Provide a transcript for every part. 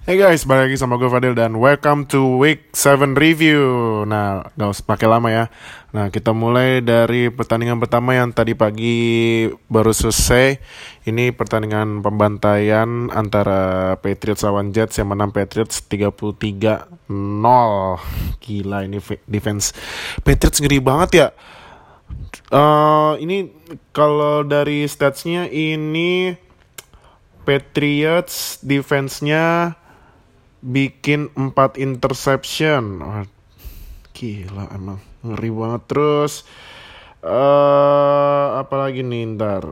Hey guys, balik lagi sama gue Fadil dan welcome to week 7 review. Nah, gak usah pakai lama ya. Nah, kita mulai dari pertandingan pertama yang tadi pagi baru selesai. Ini pertandingan pembantaian antara Patriots lawan Jets yang menang Patriots 33-0. Gila ini defense Patriots ngeri banget ya. Ini kalau dari statsnya ini Patriots defense-nya bikin 4 interception. Oh, gila emang ngeri banget. Terus apalagi nih ntar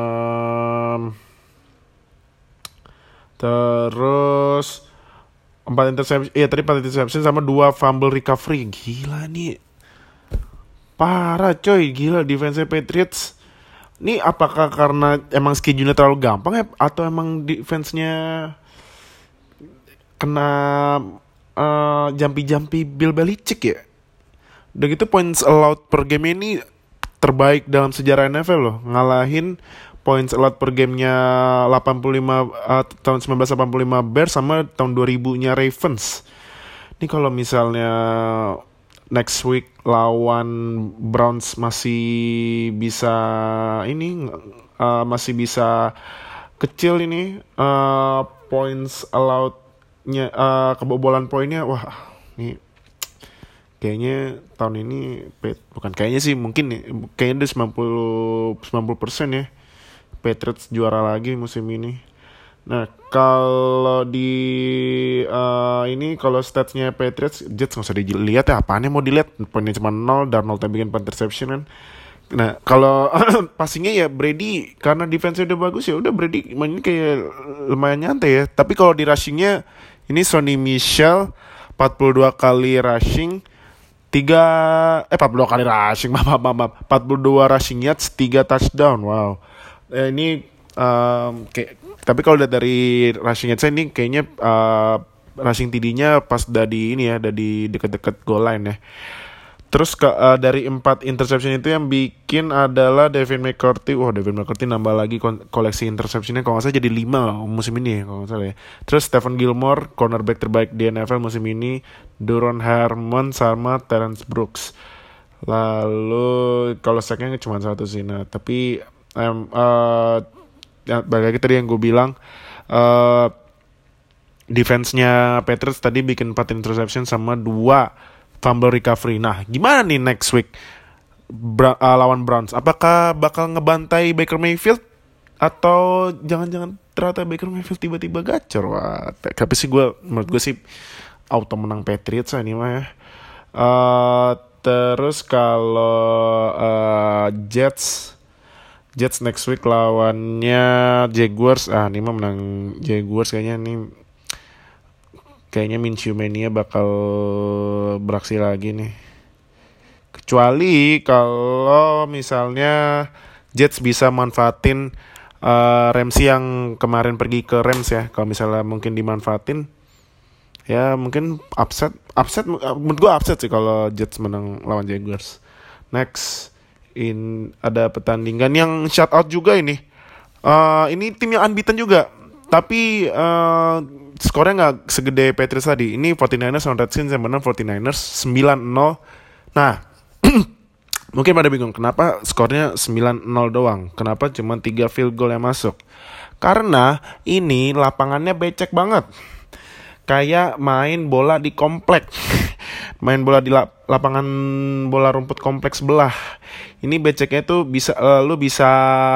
terus 4 interception. Iya tadi 4 interception sama 2 fumble recovery. Gila nih, parah coy. Gila defense Patriots. Ini apakah karena emang schedule-nya terlalu gampang ya, atau emang defense-nya kena jampi-jampi Bill Belichick ya? Udah gitu points allowed per game ini terbaik dalam sejarah NFL loh. Ngalahin points allowed per gamenya 85 tahun 1985 Bears sama tahun 2000-nya Ravens. Ini kalau misalnya next week lawan Browns masih bisa ini masih bisa kecil ini points allowed-nya, kebobolan poinnya, wah ini kayaknya tahun ini bukan kayaknya sih, mungkin nih kayaknya udah 90% ya Patriots juara lagi musim ini. Nah kalau di ini kalau statsnya Patriots, Jets nggak usah dilihat ya, apaan yang mau dilihat, poinnya cuma 0, Darnold yang bikin 4 interception kan. Nah kalau passingnya ya Brady, karena defense udah bagus ya udah Brady mainnya kayak lumayan nyantai ya. Tapi kalau di rushingnya ini Sonny Michel 42 kali rushing, 42 kali rushing, maaf, 42 rushing yards, 3 touchdown. Wow. Ini kayak, tapi kalau lihat dari rushing yards ini kayaknya rushing TD-nya pas udah di ini ya, udah di deket-deket goal line ya. Terus dari 4 interception itu yang bikin adalah Devin McCourty. Wah, Devin McCourty nambah lagi koleksi interceptionnya, kalau nggak salah jadi 5 musim ini ya, kalau nggak salah ya. Terus Stephen Gilmore, cornerback terbaik di NFL musim ini, Duron Harmon sama Terrence Brooks. Lalu kalau sacknya cuma 1 sih. Nah, tapi ya, balik lagi tadi yang gue bilang, defense-nya Patriots tadi bikin 4 interception sama 2 fumble recovery. Nah, gimana nih next week lawan Browns? Apakah bakal ngebantai Baker Mayfield, atau jangan-jangan ternyata Baker Mayfield tiba-tiba gacor? Wah, tapi sih menurut gue sih auto menang Patriots ini mah ya. Terus kalau Jets next week lawannya Jaguars. Ini mah menang Jaguars kayaknya nih. Kayaknya Minshew Mania bakal beraksi lagi nih. Kecuali kalau misalnya Jets bisa manfaatin Ramsey yang kemarin pergi ke Rams ya. Kalau misalnya mungkin dimanfaatin, ya mungkin upset menurut gue upset sih kalau Jets menang lawan Jaguars. Next, ada pertandingan yang shout out juga ini. Ini tim yang unbeaten juga, tapi skornya nggak segede Patriots tadi. Ini 49ers lawan Redskins yang menang 49ers 9-0. Nah, mungkin pada bingung kenapa skornya 9-0 doang, kenapa cuma 3 field goal yang masuk. Karena ini lapangannya becek banget, kayak main bola di komplek. Main bola di lapangan bola rumput kompleks sebelah. Ini beceknya tuh bisa lu bisa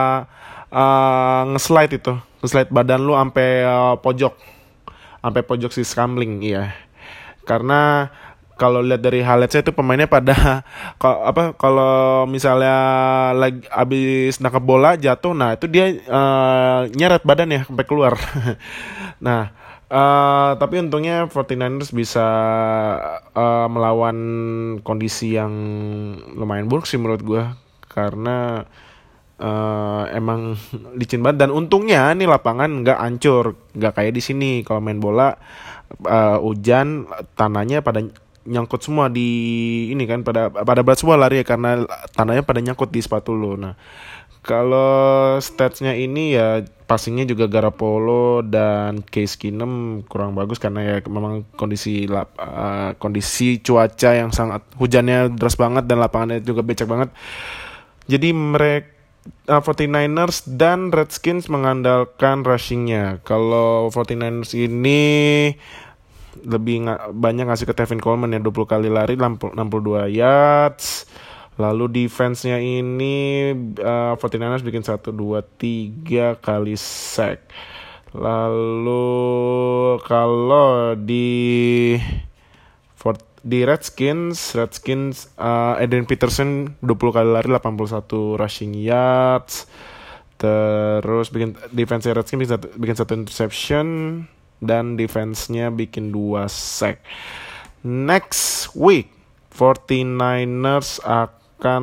nge-slide badan lu sampai pojok si scrambling, iya. Karena kalau lihat dari highlight saya itu pemainnya pada kalau misalnya lagi abis nangkap bola jatuh, nah itu dia nyeret badan ya sampai keluar. Nah, tapi untungnya 49ers bisa melawan kondisi yang lumayan buruk sih menurut gue, karena emang licin banget. Dan untungnya nih lapangan nggak hancur, nggak kayak di sini kalau main bola hujan, tanahnya pada nyangkut semua di ini kan, pada berat semua lari ya, karena tanahnya pada nyangkut di sepatu lo. Nah, Kalau statsnya ini ya passingnya juga Garoppolo dan Case Keenum kurang bagus karena ya memang kondisi cuaca yang sangat hujannya deras banget dan lapangannya juga becek banget. Jadi mereka 49ers dan Redskins mengandalkan rushingnya. Kalau 49ers ini lebih banyak ngasih ke Tevin Coleman ya, 20 kali lari 62 yards. Lalu defense-nya ini 49ers bikin 1, 2, 3 kali sack. Lalu kalau di Redskins Adrian Peterson 20 kali lari 81 rushing yards. Terus defense Redskins bikin 1 interception dan defense-nya bikin 2 sack. Next week 49ers akan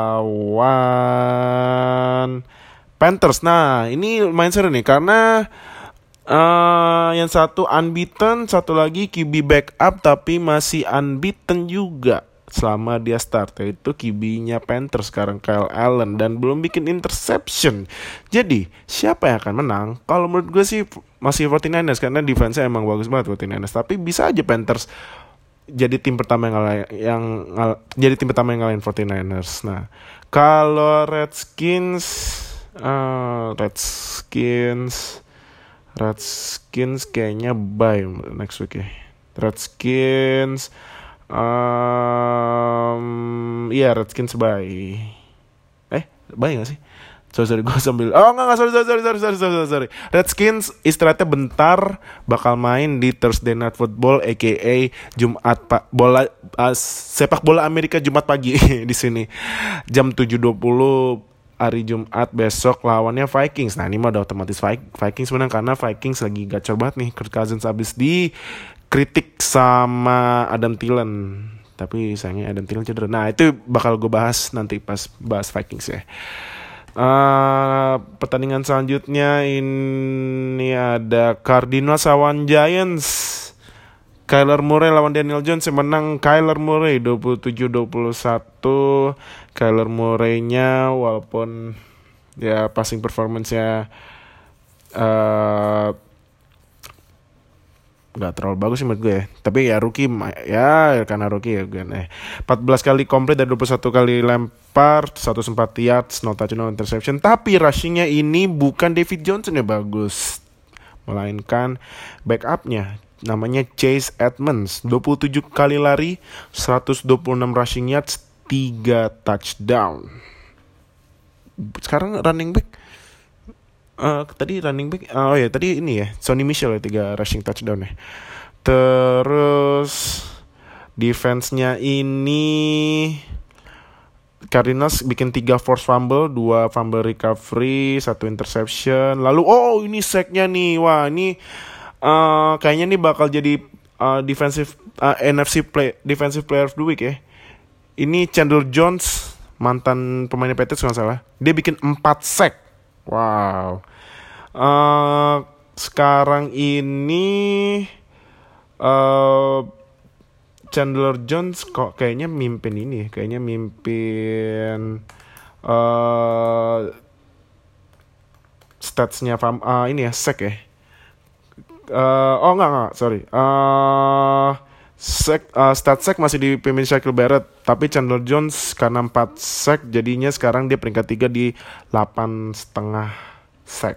lawan Panthers. Nah, ini lumayan seru nih karena yang satu unbeaten, satu lagi QB backup tapi masih unbeaten juga selama dia start, yaitu QB-nya Panthers sekarang Kyle Allen dan belum bikin interception. Jadi, siapa yang akan menang? Kalau menurut gue sih masih 49ers karena defense-nya emang bagus banget 49ers, tapi bisa aja Panthers jadi tim pertama yang ngalahin 49ers. Nah, kalau Redskins kayaknya bye next week ya. Redskins Redskins bye. Bye gak sih? Sorry, gue sambil sorry. Redskins istirahatnya bentar, bakal main di Thursday Night Football aka sepak bola Amerika Jumat pagi di sini. Jam 7.20 hari Jumat besok lawannya Vikings. Nah, ini mah udah otomatis Vikings menang karena Vikings lagi gacor banget nih. Kirk Cousins abis dikritik sama Adam Thielen. Tapi sayangnya Adam Thielen cedera. Nah, itu bakal gue bahas nanti pas bahas Vikings ya. Pertandingan selanjutnya ini ada Cardinals lawan Giants. Kyler Murray lawan Daniel Jones, yang menang Kyler Murray 27-21. Kyler Murray-nya walaupun ya passing performance-nya gak terlalu bagus sih menurut gue ya. Tapi ya rookie ya karena rookie ya gue 14 kali komplit dari 21 kali lempar, 104 yards, no touchdown, no interception. Tapi rushingnya ini bukan David Johnson yang bagus, melainkan backupnya namanya Chase Edmonds. 27 kali lari, 126 rushing yards, 3 touchdown. Sekarang running back tadi ini ya Sonny Michel ya 3 rushing touchdown ya. Terus defense-nya ini Cardinals bikin 3 forced fumble, 2 fumble recovery, 1 interception. Lalu ini sack-nya nih. Wah, ini kayaknya nih bakal jadi defensive player of the week ya. Ini Chandler Jones, mantan pemain Patriots kalau salah. Dia bikin 4 sack. Wow. Sekarang ini Chandler Jones kok kayaknya mimpin statsnya ini ya sack ya. Sorry. Stat sack masih dipimpin Shaquille Barrett, tapi Chandler Jones karena 4 sack jadinya sekarang dia peringkat 3 di 8,5 sack.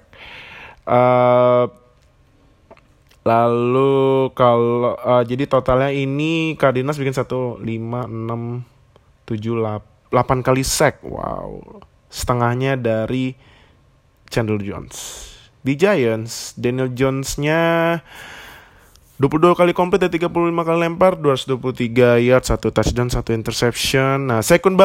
Lalu kalau jadi totalnya ini Cardinals bikin 1, 5, 6, 7, 8 kali sack. Wow. Setengahnya dari Chandler Jones. Di Giants, Daniel Jones-nya 22 kali komplit dan 35 kali lempar, 223 yards, 1 touchdown, 1 interception. Nah, Saquon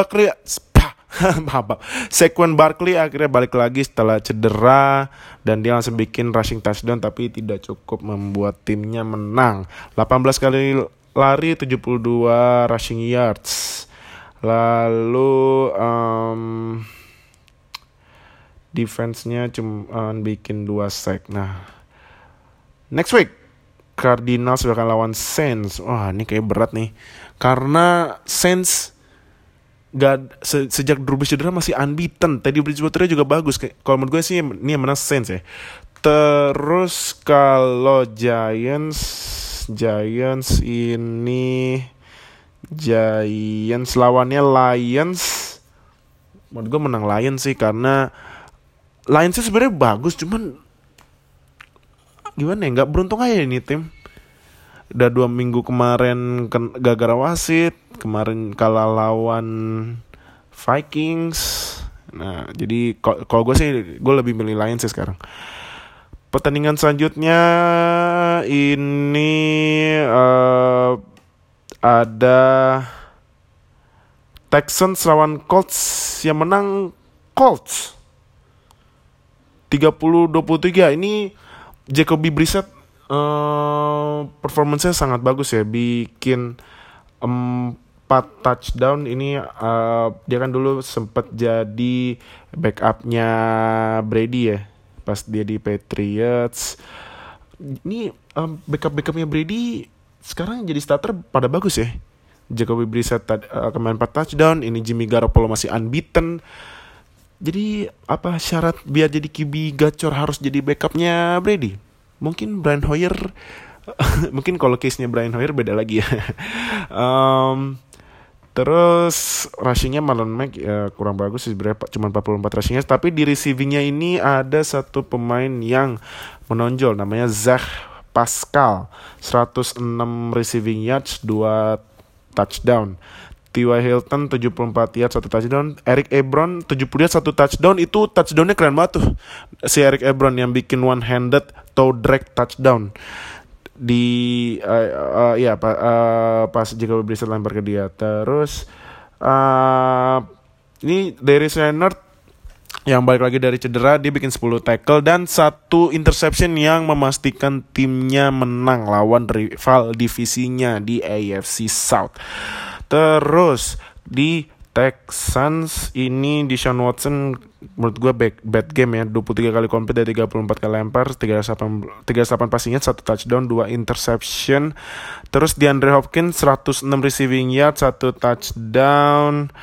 Barkley akhirnya balik lagi setelah cedera dan dia langsung bikin rushing touchdown tapi tidak cukup membuat timnya menang. 18 kali lari, 72 rushing yards. Lalu defense-nya cuma bikin 2 sack. Nah, next week Cardinals akan lawan Saints. Wah, ini kayak berat nih. Karena Saints sejak Drew Brees cedera masih unbeaten. Teddy Bridgewater juga bagus. Kalau menurut gue sih ini yang menang Saints ya. Terus kalau Giants ini Giants lawannya Lions. Menurut gue menang Lions sih, karena Lions sih sebenarnya bagus, cuman gimana ya, nggak beruntung aja ini tim. Udah 2 minggu kemarin gara-gara wasit, kemarin kalah lawan Vikings. Nah jadi kalau gue sih gue lebih milih Lions sih sekarang. Pertandingan selanjutnya ini ada Texans lawan Colts. Yang menang Colts 30-23. Ini Jacoby Brissett performance-nya sangat bagus ya, bikin 4 touchdown. Ini dia kan dulu sempat jadi backupnya Brady ya pas dia di Patriots. Ini backupnya Brady sekarang jadi starter pada bagus ya. Jacoby Brissett kemarin 4 touchdown. Ini Jimmy Garoppolo masih unbeaten. Jadi apa syarat biar jadi QB gacor harus jadi backupnya Brady? Mungkin Brian Hoyer. Mungkin kalau case-nya Brian Hoyer beda lagi ya. Terus rushing-nya Marlon Mack kurang bagus sih sebenarnya, cuma 44 rushing-nya. Tapi di receiving-nya ini ada satu pemain yang menonjol, namanya Zach Pascal. 106 receiving yards, 2 touchdown. T.Y. Hilton 74 yards, 1 touchdown. Eric Ebron 70 yards, 1 touchdown. Itu touchdown-nya keren banget tuh, si Eric Ebron yang bikin one-handed toe drag touchdown di pas Jacoby Brissett lempar ke dia. Terus ini Darius Leonard yang balik lagi dari cedera, dia bikin 10 tackle dan 1 interception yang memastikan timnya menang lawan rival divisinya di AFC South. Terus di Texans ini Deshaun Watson menurut gue bad game ya. 23 kali komplit dari 34 kali lempar, 38 passing yards, 1 touchdown, 2 interception. Terus DeAndre Hopkins 106 receiving yards, 1 touchdown.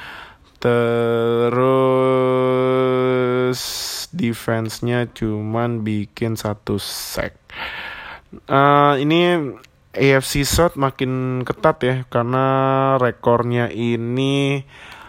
Terus defense-nya cuman bikin 1 sack. Ini AFC South makin ketat ya, karena rekornya ini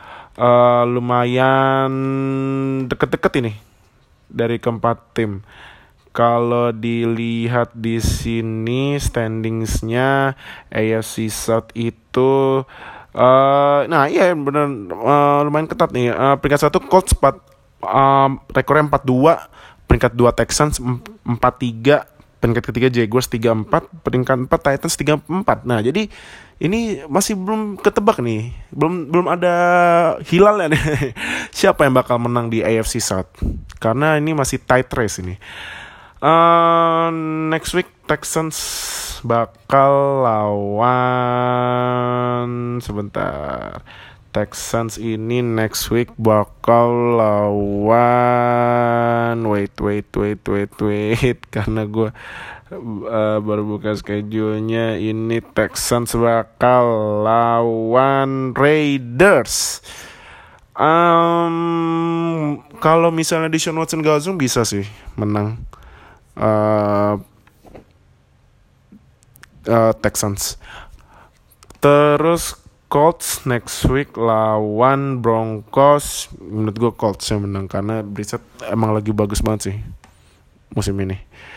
lumayan deket-deket ini dari keempat tim. Kalau dilihat di sini standings-nya AFC South itu benar lumayan ketat nih. Peringkat 1 Colts rekornya 4-2, peringkat 2 Texans 4-3, peringkat ketiga Jaguars 3-4, peringkat 4 Titans 3-4. Nah, jadi ini masih belum ketebak nih. Belum ada hilalnya nih. Siapa yang bakal menang di AFC South? Karena ini masih tight race ini. Next week Texans bakal lawan Texans ini next week bakal lawan wait karena gue baru buka schedule-nya. Ini Texans bakal lawan Raiders. Kalau misalnya Deshaun Watson gak zoom bisa sih menang Texans. Terus Colts next week lawan Broncos. Menurut gue Colts yang menang karena Brissett emang lagi bagus banget sih musim ini.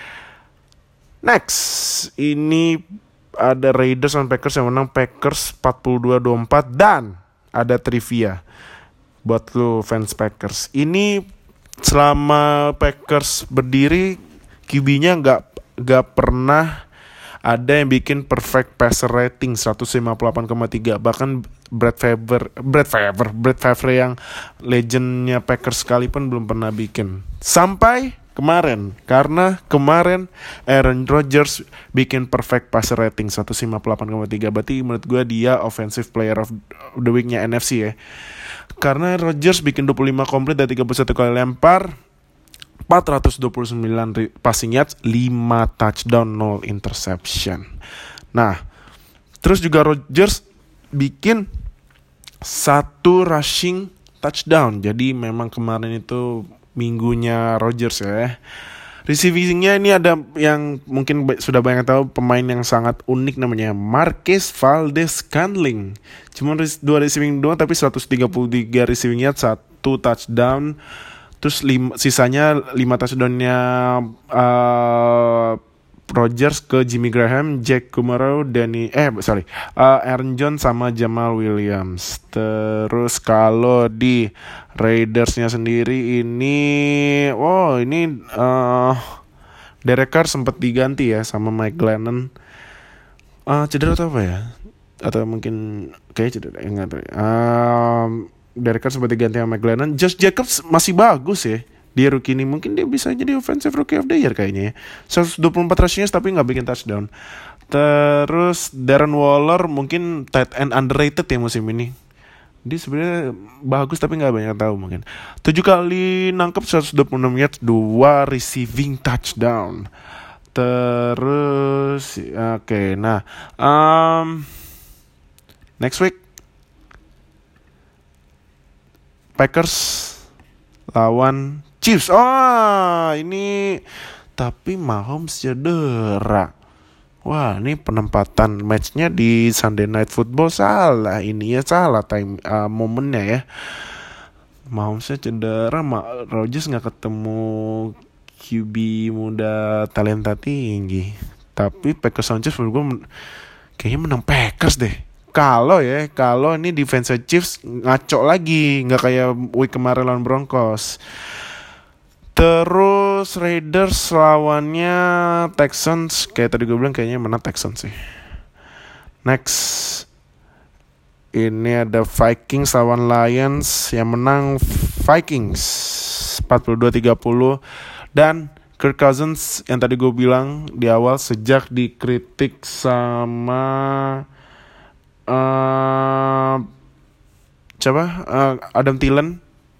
Next, ini ada Raiders dan Packers yang menang Packers 42-24. Dan ada trivia buat lu fans Packers. Ini selama Packers berdiri, QB-nya nggak pernah ada yang bikin perfect passer rating 158,3. Bahkan Brad Favre yang legendnya Packers sekalipun belum pernah bikin. Sampai kemarin, karena kemarin Aaron Rodgers bikin perfect passer rating 158,3. Berarti menurut gue dia offensive player of the week-nya NFC ya. Karena Rodgers bikin 25 komplit dari 31 kali lempar, 429 passing yards, 5 touchdown, 0 interception. Nah, terus juga Rodgers bikin 1 rushing touchdown. Jadi memang kemarin itu minggunya Rodgers ya. Receivingnya ini ada yang mungkin sudah banyak tahu, pemain yang sangat unik namanya Marquez Valdes-Scantling. Cuma 2 receiving doang tapi 133 receivingnya, 1 touchdown. Terus sisanya 5 touchdownnya Rodgers ke Jimmy Graham, Jack Kumaro, Aaron Jones sama Jamal Williams. Terus kalau di Raidersnya sendiri ini, Derek Carr sempat diganti ya sama Mike Glennon. Cedera atau apa ya? Atau mungkin kayak cedera, enggak tahu. Derek Carr sempat diganti sama Mike Glennon. Josh Jacobs masih bagus ya. Dia rookie ini, mungkin dia bisa jadi offensive rookie of the year kayaknya ya. 124 rushing tapi gak bikin touchdown. Terus Darren Waller mungkin tight end underrated ya musim ini. Dia sebenarnya bagus tapi gak banyak tahu mungkin. 7 kali nangkep 126 yards, 2 receiving touchdown. Terus next week Packers lawan Chiefs. Ini tapi Mahomes cedera. Wah, ini penempatan matchnya di Sunday Night Football salah. Ini ya salah time momennya ya. Mahomesnya cedera, Rodgers nggak ketemu QB muda talenta tinggi. Tapi Packers lawan Chiefs menurut gue kayaknya menang Packers deh. Kalau ini defense Chiefs ngaco lagi, nggak kayak week kemarin lawan Broncos. Terus Raiders lawannya Texans, kayak tadi gue bilang kayaknya menang Texans sih. Next, ini ada Vikings lawan Lions, yang menang Vikings 42-30. Dan Kirk Cousins yang tadi gue bilang di awal, sejak dikritik sama Adam Thielen,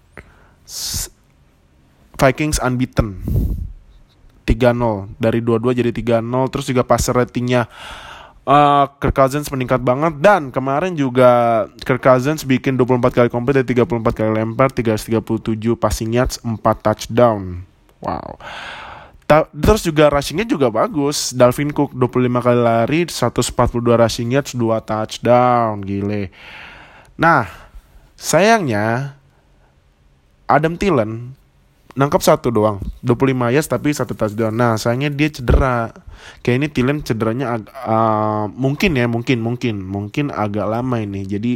Vikings unbeaten 3-0, dari 2-2 jadi 3-0. Terus juga passer ratingnya Kirk Cousins meningkat banget. Dan kemarin juga Kirk Cousins bikin 24 kali komplit dari 34 kali lempar, 337 passing yards, 4 touchdown. Wow. Terus juga rushingnya juga bagus. Dalvin Cook 25 kali lari, 142 rushing yards, 2 touchdown. Gile. Nah, sayangnya Adam Thielen nangkap 1 doang, 25 yards tapi 1 touchdown. Nah, sayangnya dia cedera. Kayak ini Thielen cederanya mungkin agak lama ini. Jadi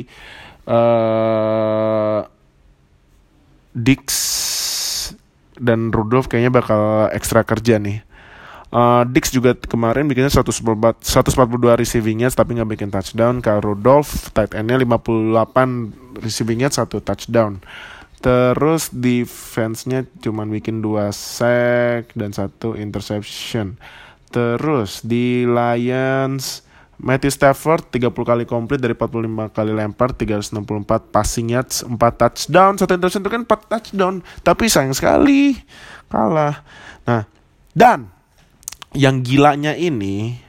Dix dan Rudolph kayaknya bakal ekstra kerja nih. Dix juga kemarin bikinnya 142 receiving yards tapi gak bikin touchdown. Kalau Rudolph tight endnya 58 receiving yards, 1 touchdown. Terus defense-nya cuma bikin 2 sack dan 1 interception. Terus di Lions, Matthew Stafford 30 kali komplit dari 45 kali lempar, 364 passing yards, 4 touchdown, 1 interception, itu kan 4 touchdown. Tapi sayang sekali kalah. Nah, dan yang gilanya ini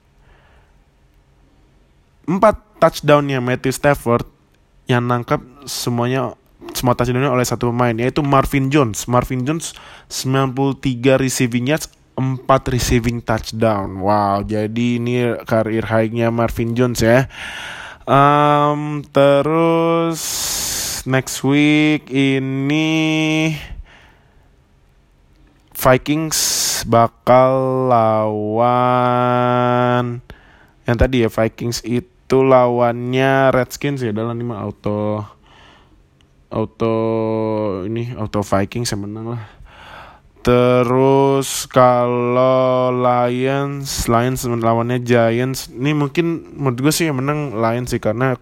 4 touchdownnya Matthew Stafford yang nangkap semua touchdownnya oleh 1 pemain, yaitu Marvin Jones. Marvin Jones 93 receiving yards, 4 receiving touchdown. Wow, jadi ini career high-nya Marvin Jones ya. Terus next week ini Vikings bakal lawan yang tadi ya, Vikings itu lawannya Redskins ya, dalam 5 auto Vikings yang menang lah. Terus kalau Lions lawannya Giants, ini mungkin menurut gue sih yang menang Lions sih, karena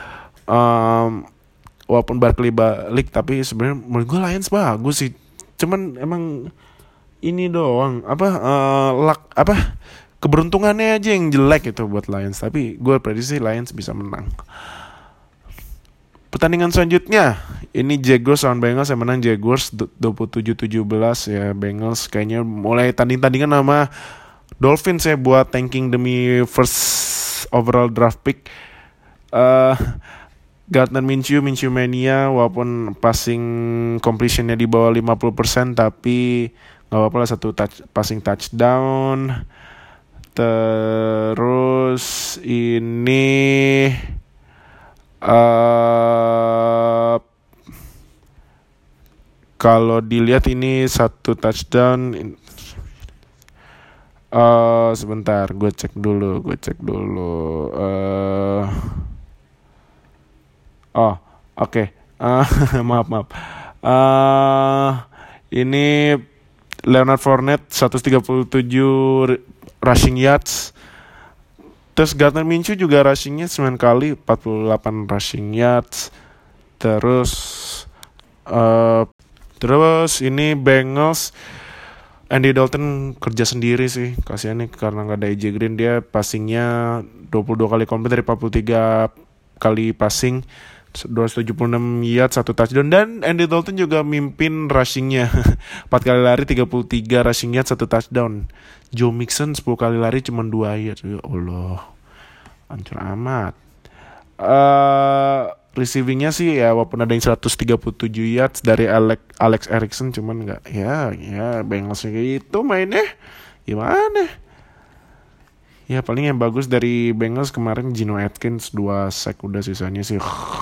walaupun Barkley balik tapi sebenarnya menurut gue Lions bagus sih. Cuman emang ini doang keberuntungannya aja yang jelek itu buat Lions. Tapi gue prediksi Lions bisa menang. Pertandingan selanjutnya ini Jaguars lawan Bengals, yang menang Jaguars 27-17 ya. Bengals kayaknya mulai tanding-tandingan sama Dolphins ya buat tanking demi first overall draft pick. Gardner Minshew mania, walaupun passing completionnya di bawah 50%, tapi nggak apa-apa lah, satu passing touchdown. Terus ini kalau dilihat ini satu touchdown. Sebentar, gue cek dulu. Oke. Maaf. Ini Leonard Fournette 137 rushing yards. Terus Gardner Minshew juga rushingnya 9 kali, 48 rushing yards. Terus ini Bengals, Andy Dalton kerja sendiri sih, kasihan nih karena nggak ada AJ Green. Dia passingnya 22 kali komplit dari 43 kali passing, 276 yards, 1 touchdown. Dan Andy Dalton juga mimpin rushingnya 4 kali lari, 33 rushing yards, 1 touchdown. Joe Mixon 10 kali lari cuma 2 yards. Ya Allah, hancur amat. Receivingnya sih ya, walaupun ada yang 137 yards dari Alex Erickson, cuman nggak, ya Bengals gitu mainnya gimana. Ya paling yang bagus dari Bengals kemarin Geno Atkins 2 sack, udah sisanya sih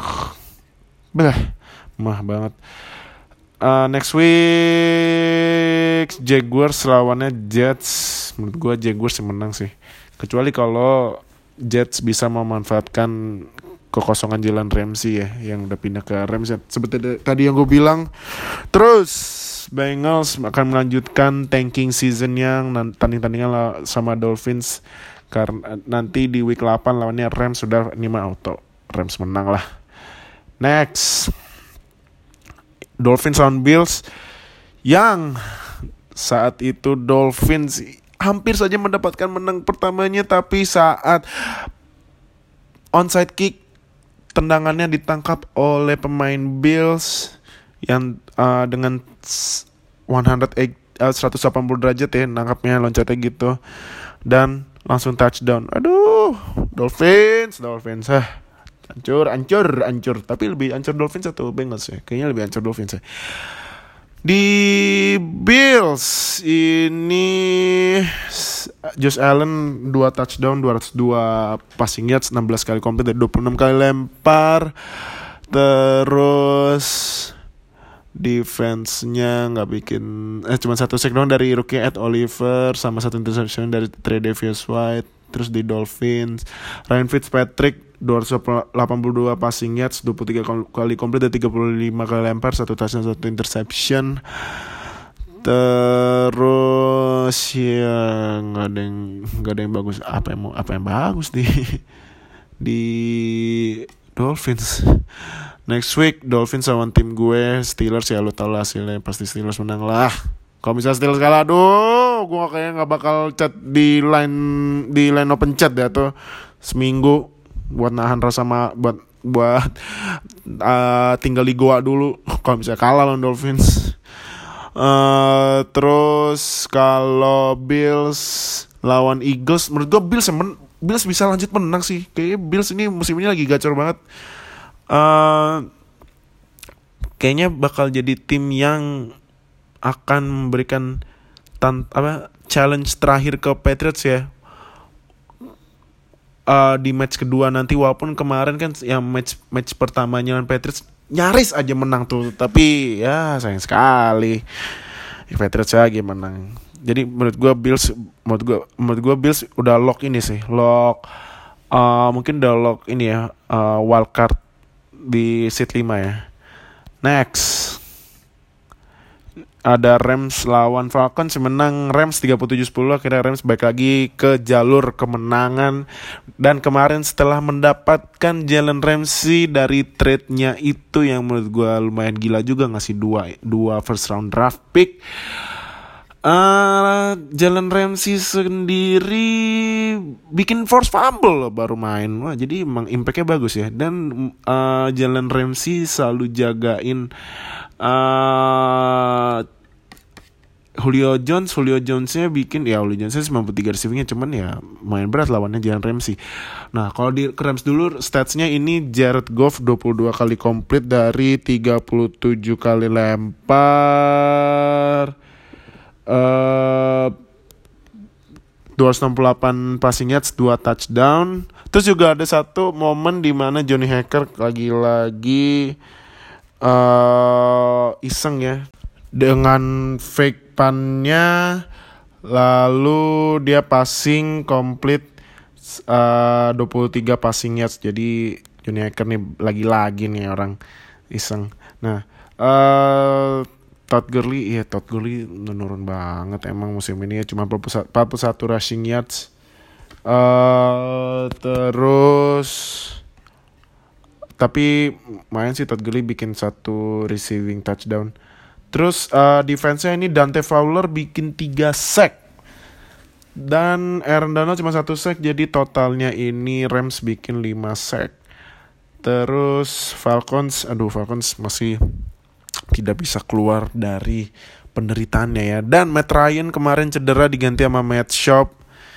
mah banget. Next week Jaguars lawannya Jets. Menurut gue Jaguars yang menang sih, kecuali kalau Jets bisa memanfaatkan kekosongan Jalen Ramsey ya, yang udah pindah ke Rams ya, seperti tadi yang gue bilang. Terus Bengals akan melanjutkan tanking season yang tandingan sama Dolphins, karena nanti di week 8 lawannya Rams, sudah 5 auto Rams menang lah. Next, Dolphins lawan Bills, yang saat itu Dolphins hampir saja mendapatkan menang pertamanya, tapi saat onside kick tendangannya ditangkap oleh pemain Bills yang dengan 180 derajat ya, nangkapnya, loncatnya gitu, dan langsung touchdown. Aduh, Dolphins hancur. Tapi lebih hancur Dolphins atau Bengals ya? Kayaknya lebih hancur Dolphins ya. Di Bills ini Josh Allen 2 touchdown, 202 passing yards, 16 kali komplit dari 26 kali lempar. Terus defense-nya nggak bikin, cuma 1 sack doang dari rookie Ed Oliver, sama 1 interception dari Tre'Davious White. Terus di Dolphins, Ryan Fitzpatrick 282 passing yards, 23 kali komplit dan 35 kali lempar, 1 touchdown, 1 interception. Terus ya nggak ada yang bagus. Apa yang bagus di Dolphins. Next week Dolphins lawan tim gue Steelers, ya lo tau lah hasilnya, pasti Steelers menang lah. Kalau misalnya Steelers kalah, aduh, gue kayaknya nggak bakal chat di line open chat ya tuh seminggu buat nahan rasa buat tinggal di goa dulu kalau misalnya kalah lawan Dolphins. Terus kalau Bills lawan Eagles, menurut gue Bills bisa lanjut menang sih. Kayaknya Bills ini musim ini lagi gacor banget. Kayaknya bakal jadi tim yang akan memberikan challenge terakhir ke Patriots ya, di match kedua nanti. Walaupun kemarin kan yang match pertamanya lawan Patriots nyaris aja menang tuh, tapi ya sayang sekali Patriots lagi menang. Jadi menurut gue Bills udah lock ini sih, mungkin udah lock ini ya, wild card di seat 5 ya. Next ada Rams lawan Falcons, menang Rams 37-10. Akhirnya Rams balik lagi ke jalur kemenangan. Dan kemarin setelah mendapatkan Jalen Ramsey dari trade-nya itu, yang menurut gue lumayan gila juga, ngasih dua first round draft pick, Jalen Ramsey sendiri bikin force fumble loh baru main. Wah, jadi emang impact-nya bagus ya. Dan Jalen Ramsey selalu jagain Julio Jonesnya bikin ya, Julio Jonesnya 93 receivingnya, cuman ya main berat lawannya Jalen Ramsey. Nah kalau di Rams dulu statsnya ini Jared Goff 22 kali komplit dari 37 kali lempar, 268 passing yards, 2 touchdown. Terus juga ada satu momen di mana Johnny Hacker lagi-lagi iseng ya dengan fake punnya, lalu dia passing komplit 23 passing yards. Jadi Johnny Hacker nih lagi-lagi nih orang iseng. Nah Todd Gurley menurun banget emang musim ini ya, cuma 41 rushing yards. Terus tapi main sih Todd Gurley bikin 1 receiving touchdown. Terus defense-nya ini Dante Fowler bikin 3 sack. Dan Aaron Donald cuma 1 sack, jadi totalnya ini Rams bikin 5 sack. Terus Falcons masih tidak bisa keluar dari penderitaannya ya. Dan Matt Ryan kemarin cedera diganti sama Matt Schaub.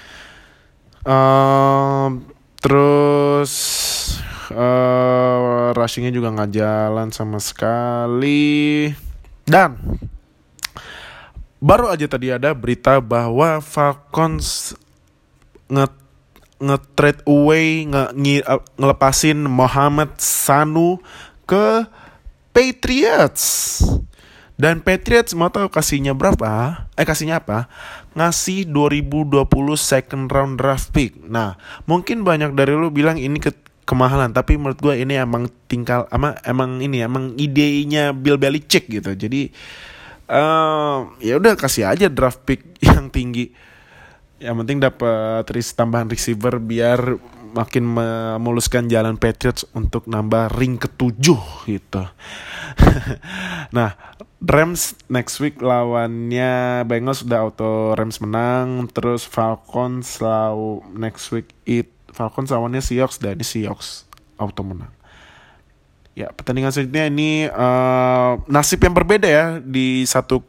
Terus rushingnya juga nggak jalan sama sekali. Dan baru aja tadi ada berita bahwa Falcons nge-trade away, ngelepasin Mohamed Sanu ke Patriots. Dan Patriots mau tahu kasihnya berapa? Kasihnya apa? Ngasih 2020 second round draft pick. Nah, mungkin banyak dari lu bilang ini kemahalan, tapi menurut gue ini emang emang idenya Bill Belichick gitu. Jadi ya udah kasih aja draft pick yang tinggi. Yang penting dapat tambahan receiver biar makin memuluskan jalan Patriots untuk nambah ring ke-7 gitu. Nah, Rams next week lawannya Bengals udah auto Rams menang. Terus Falcons next week Falcons lawannya Seahawks, dan Seahawks auto menang. Ya, pertandingan selanjutnya ini nasib yang berbeda ya di satu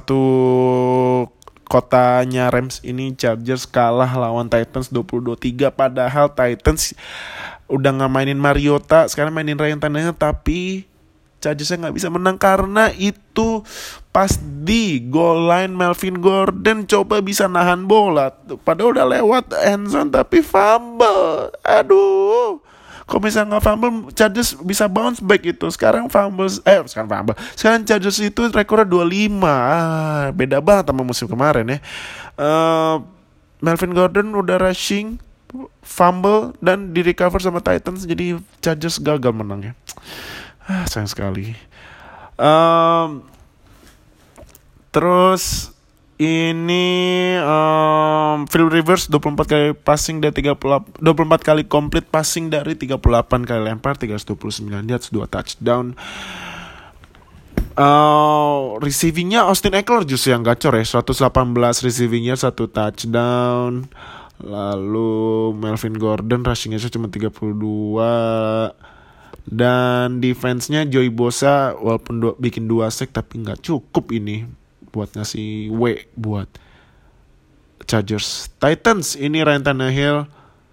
kotanya Rams ini. Chargers kalah lawan Titans 22-3, padahal Titans udah nggak mainin Mariota, sekarang mainin Ryan Tannehill, tapi Chargersnya nggak bisa menang karena itu pas di goal line Melvin Gordon coba bisa nahan bola, padahal udah lewat end zone tapi fumble. Aduh, kalau misalnya nggak fumble, Chargers bisa bounce back itu. Sekarang Chargers itu rekornya 25. Beda banget sama musim kemarin ya. Melvin Gordon udah rushing, fumble, dan di recover sama Titans. Jadi Chargers gagal menang ya. Sayang sekali. Terus ini Phil Rivers 24 kali passing dari 24 kali complete passing dari 38 kali lempar, 329 yards, 2 touchdown. Receivingnya Austin Eckler justru yang gacor ya, 118 receivingnya, 1 touchdown. Lalu Melvin Gordon rushingnya cuma 32. Dan defense-nya Joey Bosa walaupun bikin 2 sack tapi gak cukup ini buat ngasih buat Chargers. Titans ini Ryan Tannehill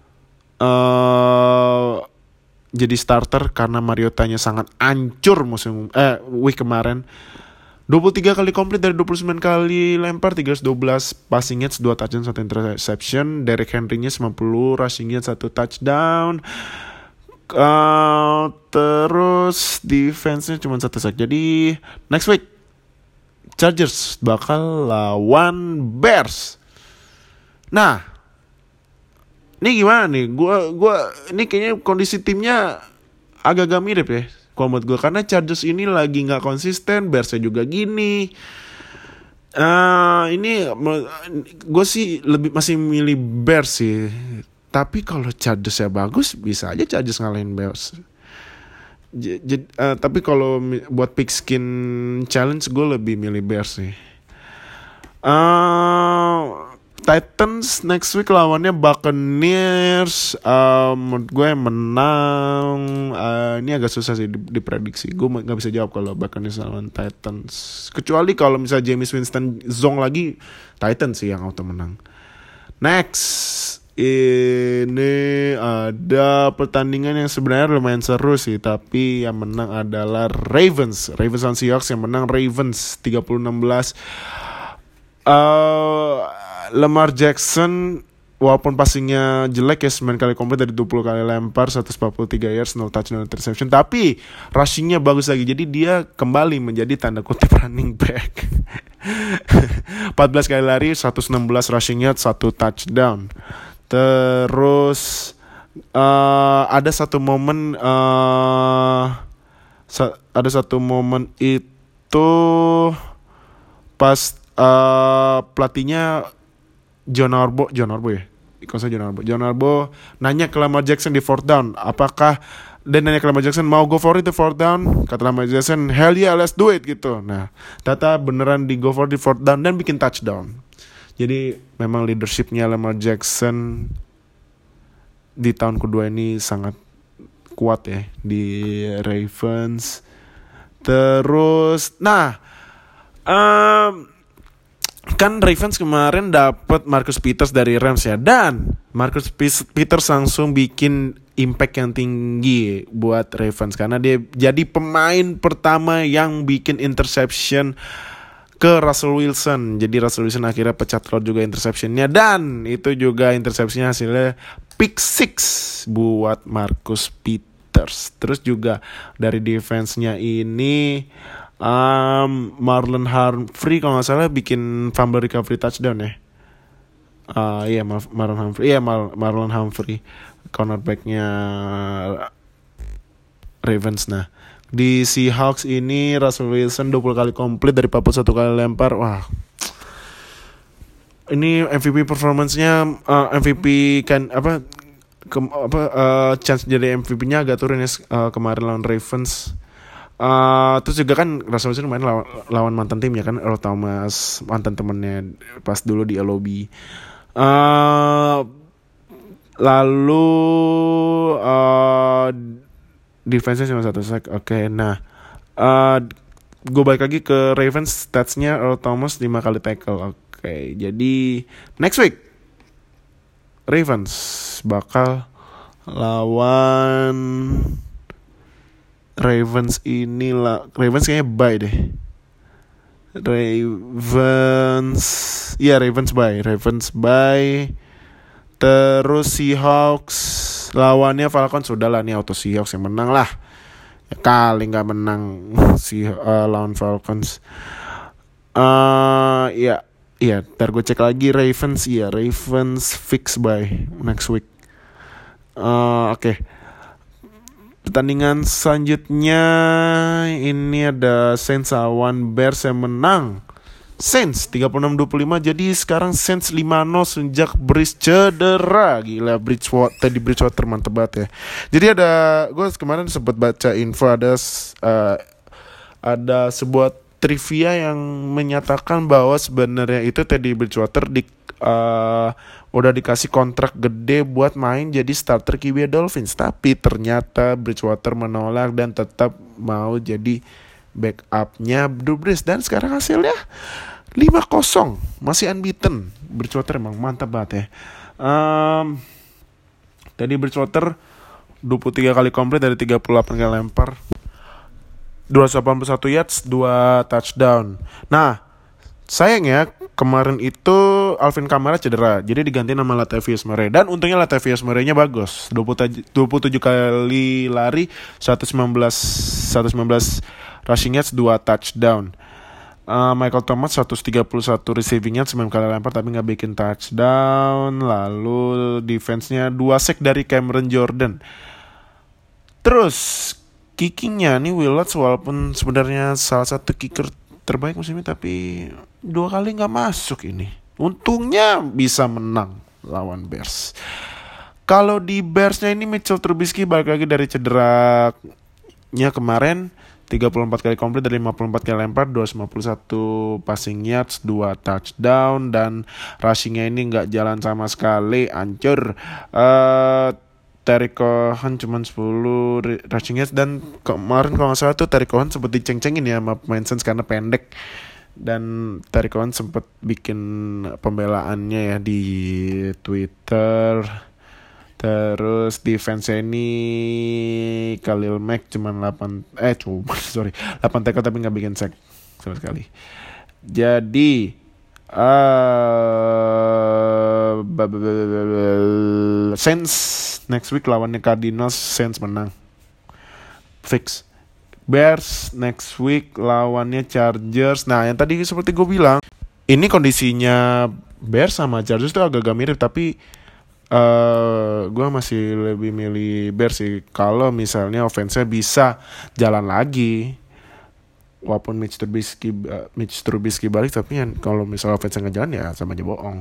jadi starter karena Mariotanya sangat hancur week kemarin. 23 kali komplit dari 29 kali lempar, 312 passing yards, 2 touchdown, 1 interception. Derrick Henry-nya 90 rushing yards, 1 touchdown. Terus defense-nya cuma 1 sack. Jadi next week Chargers bakal lawan Bears. Nah, ini gimana nih? Gua ini kayaknya kondisi timnya agak-agak mirip ya kalau menurut gue, karena Chargers ini lagi nggak konsisten, Bearsnya juga gini. Ini gue sih masih milih Bears sih. Tapi kalau Chargers ya bagus, bisa aja Chargers ngalahin Bears. Tapi kalau buat pigskin challenge, gue lebih milih Bears sih. Titans next week lawannya Buccaneers. Menurut gue menang. Ini agak susah sih diprediksi. Gue nggak bisa jawab kalau Buccaneers lawan Titans. Kecuali kalau misalnya Jameis Winston zong lagi, Titans sih yang auto menang. Next, ini ada pertandingan yang sebenarnya lumayan seru sih, tapi yang menang adalah Ravens lawan Seahawks. Yang menang Ravens 30-16. Lamar Jackson walaupun passingnya jelek ya, 9 kali komplit dari 20 kali lempar, 143 yards, 0 touchdown interception, tapi rushingnya bagus lagi. Jadi dia kembali menjadi tanda kutip running back. 14 kali lari, 116 rushing yards, 1 touchdown. Terus ada satu momen itu pas pelatihnya John Harbaugh nanya ke Lamar Jackson di fourth down, nanya ke Lamar Jackson mau go for it di fourth down. Kata Lamar Jackson, hell yeah, let's do it gitu. Nah, ternyata beneran di go for it di fourth down dan bikin touchdown. Jadi memang leadershipnya Lamar Jackson di tahun kedua ini sangat kuat ya di Ravens. Terus, kan Ravens kemarin dapat Marcus Peters dari Rams ya, dan Marcus Peters langsung bikin impact yang tinggi buat Ravens karena dia jadi pemain pertama yang bikin interception ke Russell Wilson. Jadi Russell Wilson akhirnya pecat telur juga interceptionnya, dan itu juga interceptionnya hasilnya pick 6 buat Marcus Peters. Terus juga dari defense-nya ini Marlon Humphrey kalau nggak salah bikin fumble recovery touchdown ya. Marlon Humphrey cornerbacknya Ravens. Nah, di Seahawks ini Russell Wilson 20 kali komplit dari 41 kali lempar. Wah, ini MVP performance-nya chance jadi MVP-nya agak turun ya kemarin lawan Ravens. Terus juga kan Russell Wilson main lawan mantan timnya kan, Earl Thomas, mantan temennya pas dulu di LOB. Lalu defense-nya cuma 1 sack. Oke, nah gue balik lagi ke Ravens. Stats-nya Earl Thomas 5 kali tackle. Oke, jadi next week Ravens bakal lawan Ravens kayaknya bye deh. Ravens bye. Terus Seahawks lawannya Falcons. Sudahlah, nih auto Seahawks yang menang lah. Ya kali nggak menang lawan Falcons. Ntar gue cek lagi Ravens. Ravens fix bye next week. Oke. Pertandingan selanjutnya ini ada Saints lawan Bears yang menang Saints 36-25. Jadi sekarang Saints 5-0 sejak Breeze cedera. Gila, Bridgewater mantep banget ya. Jadi gue kemarin sempat baca info ada sebuah trivia yang menyatakan bahwa sebenarnya itu Teddy Bridgewater udah dikasih kontrak gede buat main jadi starter QB Dolphins, tapi ternyata Bridgewater menolak dan tetap mau jadi backupnya Drew Brees, dan sekarang hasilnya 5-0, masih unbeaten. Bridgewater emang mantap banget ya. Tadi Bridgewater 23 kali komplit dari 38 kali lempar, 281 yards, 2 touchdown. Nah, sayangnya kemarin itu Alvin Kamara cedera, jadi diganti nama Latavius Murray, dan untungnya Latavius Murray-nya bagus. 27 kali lari, 119 rushing yards, 2 touchdown. Michael Thomas 131 receiving yards, 9 kali lempar tapi gak bikin touchdown. Lalu defense-nya 2 sack dari Cameron Jordan. Terus kickingnya nih Will Lutz, walaupun sebenarnya salah satu kicker terbaik musim ini, tapi 2 kali gak masuk ini. Untungnya bisa menang lawan Bears. Kalau di Bears-nya ini Mitchell Trubisky balik lagi dari cederanya kemarin, 34 kali komplit dari 54 kali lempar, 251 passing yards, 2 touchdown, dan rushingnya ini nggak jalan sama sekali, hancur. Terry Cohen cuma 10 rushing yards, dan kemarin kalau nggak salah tuh Terry Cohen sempat diceng-cengin ya sama pemain Saints karena pendek, dan Terry Cohen sempat bikin pembelaannya ya di Twitter. Terus defense ini Khalil Mack cuma 8 tackle tapi nggak bikin sack sama sekali. Jadi Saints next week lawannya Cardinals, Saints menang fix. Bears next week lawannya Chargers. Nah, yang tadi seperti gue bilang, ini kondisinya Bears sama Chargers tuh agak-agak mirip, tapi gue masih lebih milih Bears sih. Kalau misalnya offense-nya bisa jalan lagi, walaupun Mitch Trubisky balik, tapi yang kalau misalnya offense-nya nggak jalan ya sama aja bohong.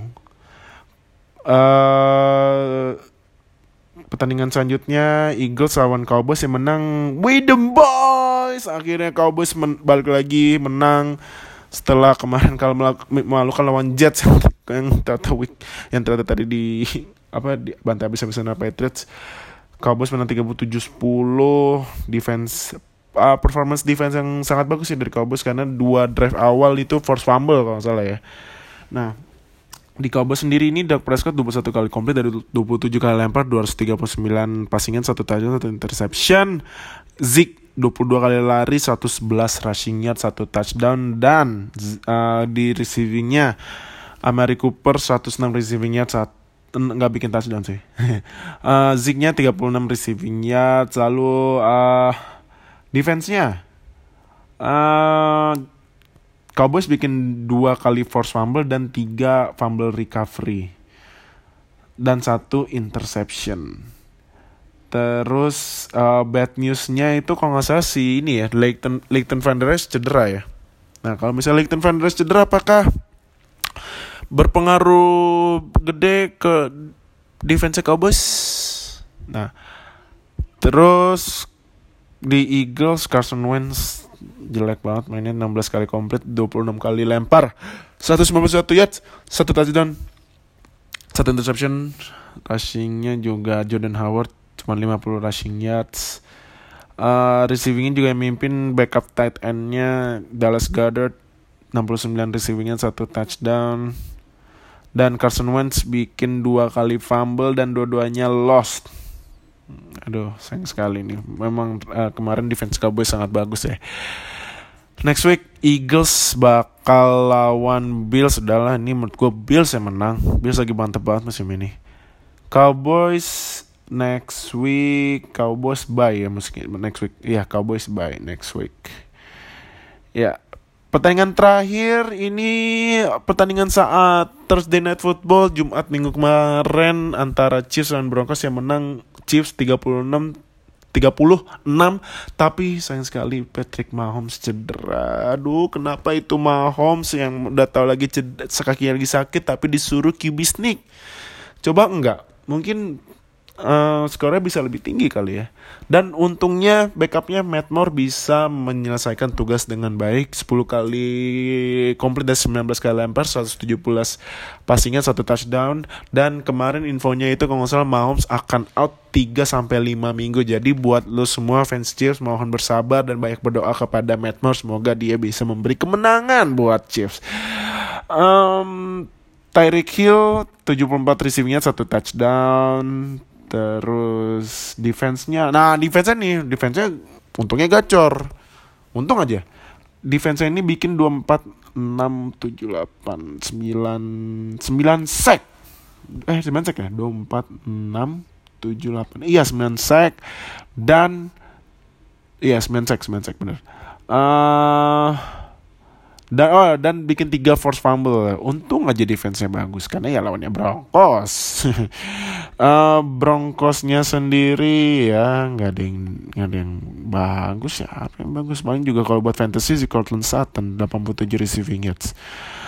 Pertandingan selanjutnya Eagles lawan Cowboys yang menang. We the boys. Akhirnya Cowboys balik lagi menang setelah kemarin kalau melakukan lawan Jets yang ternyata tadi di bantai habis-habisan Patriots. Cowboys menang 37-10. Performance defense yang sangat bagus sih dari Cowboys, karena 2 drive awal itu force fumble kalau nggak salah ya. Nah, di Cowboys sendiri ini Dak Prescott 21 kali komplit dari 27 kali lempar, 239 passingan, 1 touchdown, 1 interception. Zeke 22 kali lari, 111 rushing yard, 1 touchdown, dan di receivingnya Amari Cooper 106 receiving yard, nggak bikin touchdown sih. Zeke-nya 36 receiving yard. Lalu defense-nya Cowboys bikin 2 kali force fumble dan 3 fumble recovery dan 1 interception. Terus bad news-nya itu kalau nggak salah si ini ya, Leighton Vander Esch cedera ya. Nah, kalau misalnya Leighton Vander Esch cedera, apakah berpengaruh gede ke defense Cowboys? Nah, terus di Eagles Carson Wentz jelek banget mainnya, 16 kali komplit, 26 kali lempar, 191 yards, 1 touchdown, 1 interception. Rushingnya juga Jordan Howard cuma 50 rushing yards. Receivingnya juga yang mimpin backup tight endnya Dallas Goedert, 69 receivingnya, 1 touchdown. Dan Carson Wentz bikin 2 kali fumble dan dua-duanya lost. Aduh, sayang sekali nih. Memang kemarin defense Cowboys sangat bagus ya. Next week Eagles bakal lawan Bills. Udahlah, ini menurut gue Bills yang menang. Bills lagi mantep banget musim ini. Cowboys next week, Cowboys bye ya next week. Iya, Cowboys bye next week. Ya, pertandingan terakhir ini pertandingan saat Thursday Night Football Jumat minggu kemarin antara Chiefs dan Broncos, yang menang Chiefs 36, tapi sayang sekali Patrick Mahomes cedera. Aduh, kenapa itu Mahomes yang udah tahu lagi kakinya lagi sakit tapi disuruh QB sneak? Coba enggak, mungkin skornya bisa lebih tinggi kali ya. Dan untungnya backupnya Matt Moore bisa menyelesaikan tugas dengan baik, 10 kali komplit dan 19 kali lempar, 117 passingnya, 1 touchdown. Dan kemarin infonya itu kalau nggak salah Mahomes akan out 3-5 minggu. Jadi buat lo semua fans Chiefs, mohon bersabar dan banyak berdoa kepada Matt Moore, semoga dia bisa memberi kemenangan buat Chiefs. Tyreek Hill 74 receivingnya, 1 touchdown. Terus defense-nya untungnya gacor. Untung aja. Defense-nya ini bikin 24, 6, 7, 8, 9 sack. 9 sack ya? 24, 6, 7, 8. Iya, 9 sack. Dan 9 sack bener. Dan bikin 3 force fumble. Untung aja defense-nya bagus, karena ya lawannya Broncos. Broncos-nya sendiri ya nggak ada yang bagus ya. Apa yang bagus paling juga kalau buat fantasy si Courtland Sutton 87 receiving yards.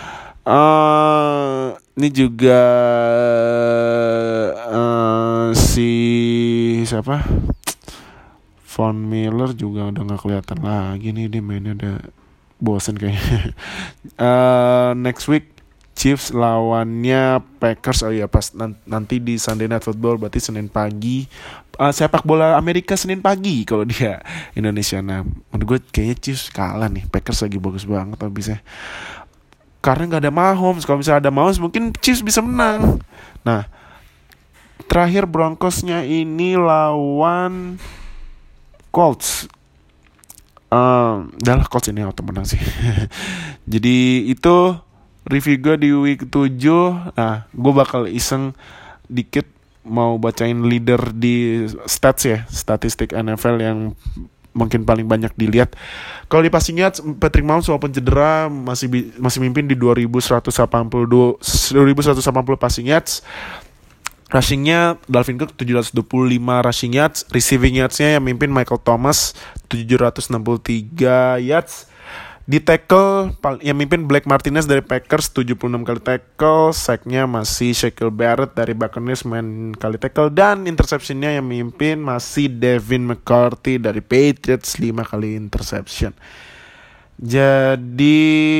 Ini juga si siapa? Von Miller juga udah nggak kelihatan lagi nih, dia mainnya udah bosen kayaknya. Next week Chiefs lawannya Packers. Oh iya, pas nanti di Sunday Night Football, berarti Senin pagi. Sepak bola Amerika Senin pagi kalau dia Indonesia. Nah, menurut gue kayaknya Chiefs kalah nih. Packers lagi bagus banget habisnya. Karena nggak ada Mahomes. Kalau misalnya ada Mahomes mungkin Chiefs bisa menang. Nah, terakhir Broncosnya ini lawan Colts. Dah lah, Colts ini auto menang sih. Jadi itu review gue di week 7. Nah, gue bakal iseng dikit mau bacain leader di stats ya, statistik NFL yang mungkin paling banyak dilihat. Kalau di passing yards, Patrick Mahomes walaupun cedera masih mimpin di 2180 passing yards. Rushingnya Dalvin Cook 725 rushing yards. Receiving yardsnya yang mimpin Michael Thomas 763 yards. Di tackle yang mimpin Blake Martinez dari Packers 76 kali tackle. Sacknya masih Shaquille Barrett dari Buccaneers main kali tackle. Dan interceptionnya yang mimpin masih Devin McCourty dari Patriots 5 kali interception. Jadi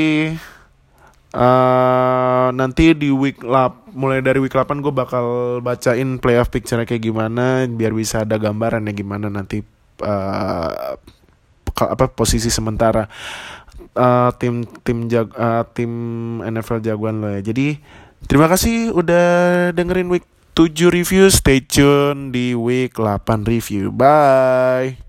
nanti di mulai dari week 8 gue bakal bacain playoff picture kayak gimana, biar bisa ada gambaran ya gimana nanti posisi sementara tim NFL jagoan lo ya. Jadi terima kasih udah dengerin week 7 review. Stay tune di week 8 review. Bye.